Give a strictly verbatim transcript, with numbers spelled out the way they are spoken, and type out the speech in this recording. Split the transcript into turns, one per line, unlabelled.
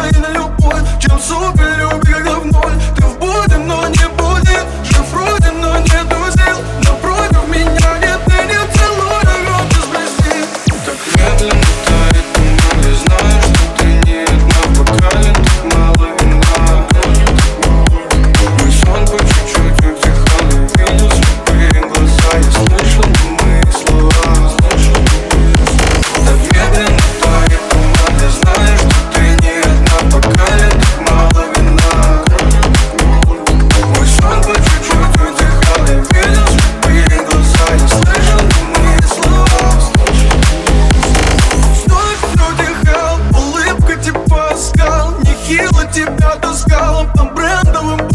и на любовь, чем супер любви, когда в ноль. Ты в буде, но не будет, жив вроде, но нету сил. Напротив меня нет, ты не целуй, рот изблести.
Так медленно тает туман, я знаю, что ты не одна в бокале, так мало вина. Мой сон по чуть-чуть утихал, я видел слепые глаза, я слышал немые слова. Так медленно тает туман, я знаю, что ты не одна в бокале, так мало вина. Мой сон по чуть-чуть утихал, я видел слепые глаза, я слышал немые слова.
Вновь утихал, улыбка типа скал, нехило тебя таскала по брендовым